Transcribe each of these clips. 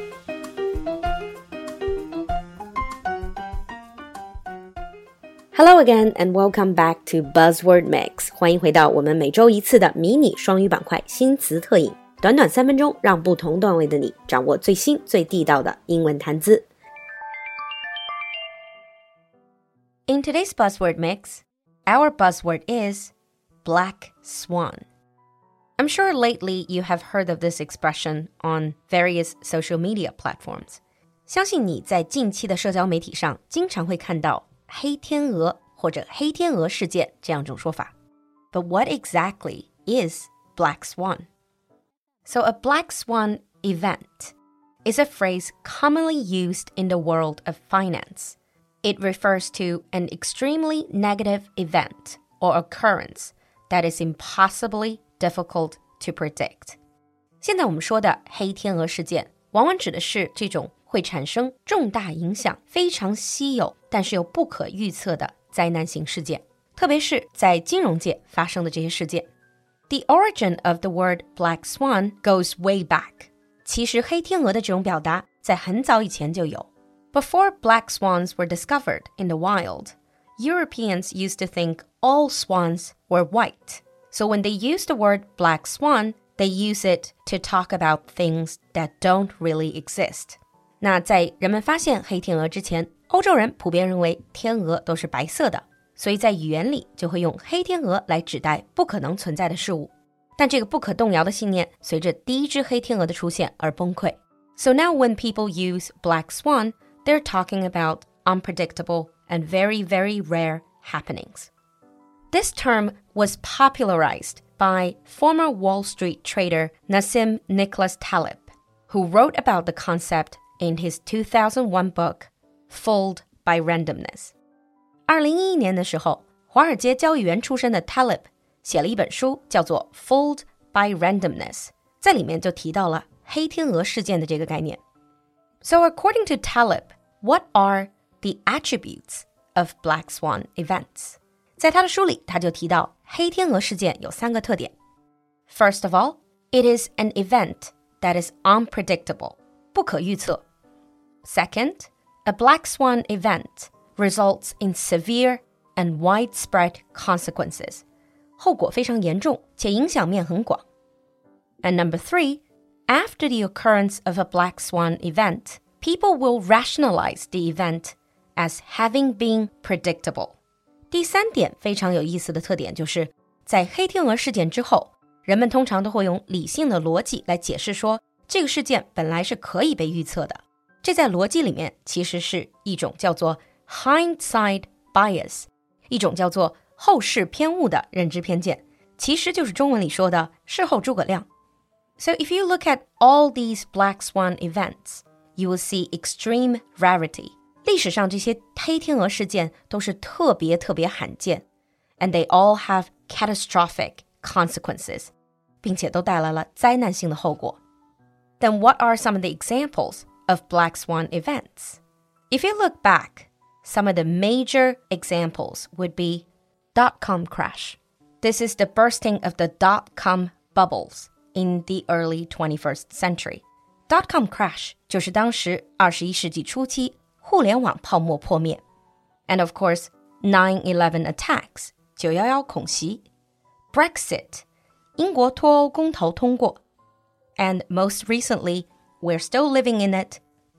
Hello again and welcome back to Buzzword Mix. 欢迎回到我们每周一次的迷你双语板块新词特饮，短短3分钟，让不同段位的你掌握最新最地道的英文谈资。In today's Buzzword Mix, our buzzword is Black Swan. I'm sure lately you have heard of this expression on various social media platforms. 相信你在近期的社交媒体上经常会看到黑天鹅或者黑天鹅事件这样一种说法。But what exactly is Black Swan? So a Black Swan event is a phrase commonly used in the world of finance. It refers to an extremely negative event or occurrence that is impossibly difficult to predict. 现在我们说的黑天鹅事件，往往指的是这种会产生重大影响、非常稀有但是又不可预测的灾难性事件，特别是在金融界发生的这些事件。The origin of the word Black Swan goes way back. 其实黑天鹅的这种表达在很早以前就有。Before black swans were discovered in the wild, Europeans used to think all swans were white. So when they use the word black swan, they use it to talk about things that don't really exist. 那在人们发现黑天鹅之前，欧洲人普遍认为天鹅都是白色的，所以在语言里就会用黑天鹅来指代不可能存在的事物。但这个不可动摇的信念随着第一只黑天鹅的出现而崩溃。So now when people use black swan, they're talking about unpredictable and very, very rare happenings. This term was popularized by former Wall Street trader Nassim Nicholas Taleb, who wrote about the concept in his 2001 book, Fooled by Randomness. 2011年的时候，华尔街交易员出身的 Taleb 写了一本书，叫做 Fooled by Randomness， 在里面就提到了黑天鹅事件的这个概念。So according to Taleb, what are the attributes of Black Swan events? 在他的书里，他就提到黑天鹅事件有3个特点。First of all, it is an event that is unpredictable, 不可预测。Second, a Black Swan event results in severe and widespread consequences. 后果非常严重，且影响面很广。And number 3, after the occurrence of a Black Swan event, people will rationalize the event as having been predictable. 第3点非常有意思的特点就是，在黑天鹅事件之后，人们通常都会用理性的逻辑来解释说，这个事件本来是可以被预测的。这在逻辑里面其实是一种叫做 hindsight bias， 一种叫做后视偏误的认知偏见，其实就是中文里说的事后诸葛亮。So if you look at all these Black Swan events, you will see extreme rarity. 历史上这些黑天鹅事件都是特别特别罕见 and they all have catastrophic consequences, 并且都带来了灾难性的后果。Then what are some of the examples of Black Swan events? If you look back, some of the major examples would be dot-com crash. This is the bursting of the dot-com bubbles in the early 21st century. Dot-com crash 就是当时21世纪初期互联网泡沫破灭。And of course, 9/11 attacks, 911恐袭。Brexit, 英国脱欧公投通过。And most recently, we're still living in it,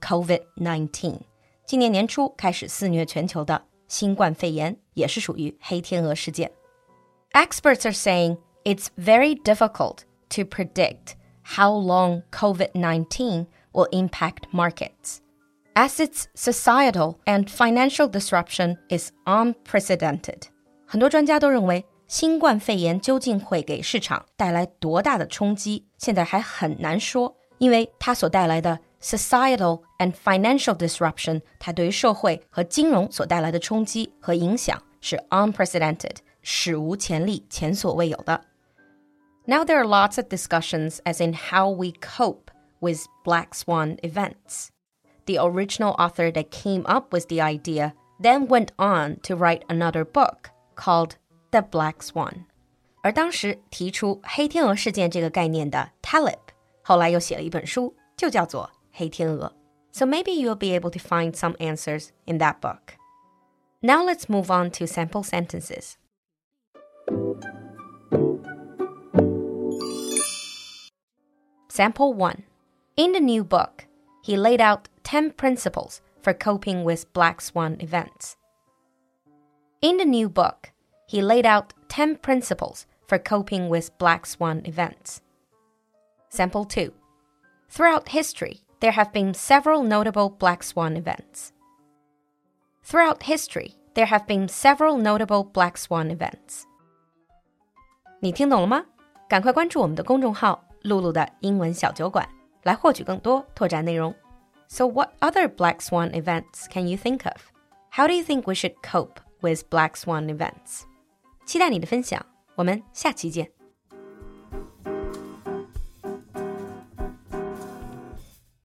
COVID-19. 今年年初开始肆虐全球的新冠肺炎也是属于黑天鹅事件。Experts are saying it's very difficult to predict how long COVID-19 will impact markets, as its societal and financial disruption is unprecedented. 很多专家都认为，新冠肺炎究竟会给市场带来多大的冲击，现在还很难说，因为它所带来的 societal and financial disruption, 它对于社会和金融所带来的冲击和影响是 unprecedented, 史无前例，前所未有的。Now there are lots of discussions as in how we cope with Black Swan events. The original author that came up with the idea then went on to write another book called The Black Swan. 而当时提出黑天鹅事件这个概念的 Taleb 后来又写了一本书，就叫做黑天鹅. So maybe you'll be able to find some answers in that book. Now let's move on to sample sentences. Sample 1. In the new book, he laid out 10 principles for coping with black swan events. In the new book, he laid out 10 principles for coping with black swan events. Sample 2. Throughout history, there have been several notable black swan events. Throughout history, there have been several notable black swan events. 你听懂了吗？赶快关注我们的公众号露露的英文小酒馆，来获取更多拓展内容。So what other black swan events can you think of? How do you think we should cope with black swan events? 期待你的分享，我们下期见。